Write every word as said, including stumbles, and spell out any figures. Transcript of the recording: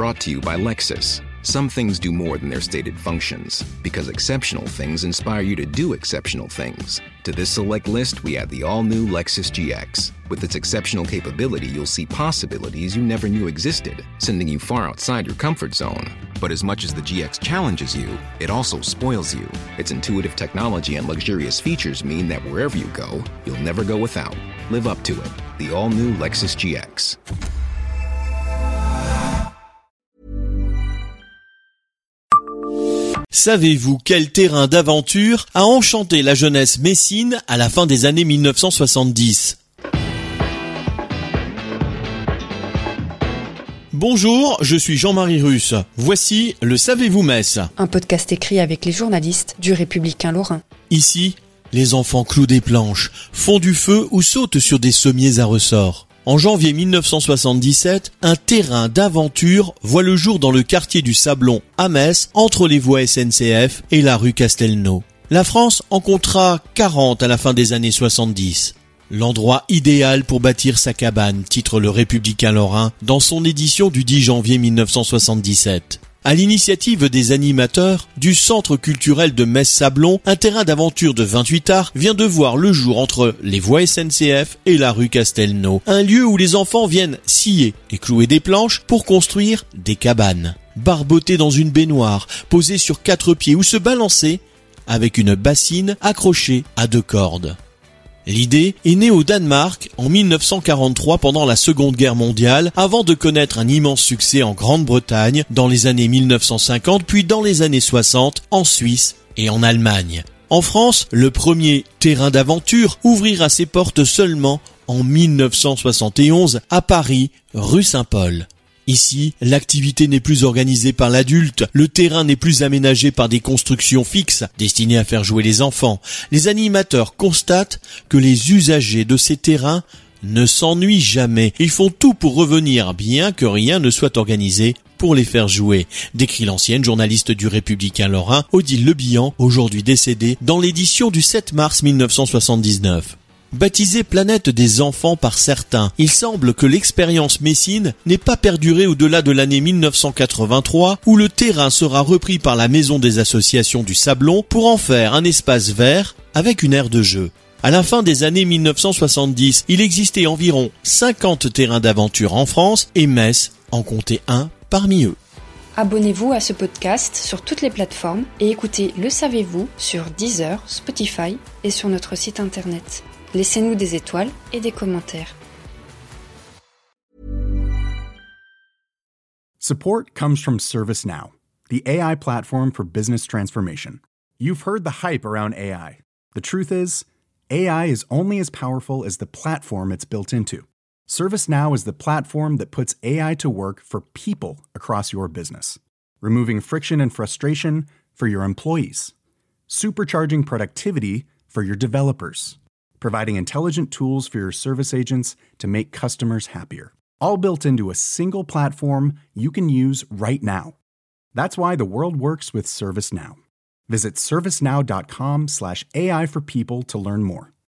Brought to you by Lexus. Some things do more than their stated functions, because exceptional things inspire you to do exceptional things. To this select list, we add the all-new Lexus G X. With its exceptional capability, you'll see possibilities you never knew existed, sending you far outside your comfort zone. But as much as the G X challenges you, it also spoils you. Its intuitive technology and luxurious features mean that wherever you go, you'll never go without. Live up to it. The all-new Lexus G X. Savez-vous quel terrain d'aventure a enchanté la jeunesse messine à la fin des années mille neuf cent soixante-dix ? Bonjour, je suis Jean-Marie Russe. Voici le Savez-vous Metz ? Un podcast écrit avec les journalistes du Républicain Lorrain. Ici, les enfants clouent des planches, font du feu ou sautent sur des sommiers à ressort. En janvier mille neuf cent soixante-dix-sept, un terrain d'aventure voit le jour dans le quartier du Sablon à Metz, entre les voies S N C F et la rue Castelnau. La France en comptera quarante à la fin des années soixante-dix. L'endroit idéal pour bâtir sa cabane, titre le Républicain Lorrain dans son édition du dix janvier mille neuf cent soixante-dix-sept. À l'initiative des animateurs du Centre culturel de Metz-Sablon, un terrain d'aventure de vingt-huit arts vient de voir le jour entre les voies S N C F et la rue Castelnau. Un lieu où les enfants viennent scier et clouer des planches pour construire des cabanes. Barboter dans une baignoire, poser sur quatre pieds ou se balancer avec une bassine accrochée à deux cordes. L'idée est née au Danemark en mille neuf cent quarante-trois pendant la Seconde Guerre mondiale, avant de connaître un immense succès en Grande-Bretagne dans les années mille neuf cent cinquante, puis dans les années soixante en Suisse et en Allemagne. En France, le premier terrain d'aventure ouvrira ses portes seulement en mille neuf cent soixante et onze à Paris, rue Saint-Paul. Ici, l'activité n'est plus organisée par l'adulte, le terrain n'est plus aménagé par des constructions fixes destinées à faire jouer les enfants. Les animateurs constatent que les usagers de ces terrains ne s'ennuient jamais. Ils font tout pour revenir, bien que rien ne soit organisé pour les faire jouer, décrit l'ancienne journaliste du Républicain Lorrain, Odile Lebihan, aujourd'hui décédée, dans l'édition du sept mars mille neuf cent soixante-dix-neuf. Baptisée Planète des enfants par certains, il semble que l'expérience messine n'ait pas perduré au-delà de l'année mille neuf cent quatre-vingt-trois, où le terrain sera repris par la Maison des associations du Sablon pour en faire un espace vert avec une aire de jeu. À la fin des années mille neuf cent soixante-dix, il existait environ cinquante terrains d'aventure en France et Metz en comptait un parmi eux. Abonnez-vous à ce podcast sur toutes les plateformes et écoutez Le Savez-vous sur Deezer, Spotify et sur notre site internet. Laissez-nous des étoiles et des commentaires. Support comes from ServiceNow, the A I platform for business transformation. You've heard the hype around A I. The truth is, A I is only as powerful as the platform it's built into. ServiceNow is the platform that puts A I to work for people across your business, removing friction and frustration for your employees, supercharging productivity for your developers, providing intelligent tools for your service agents to make customers happier. All built into a single platform you can use right now. That's why the world works with ServiceNow. Visit servicenow.com slash AI for people to learn more.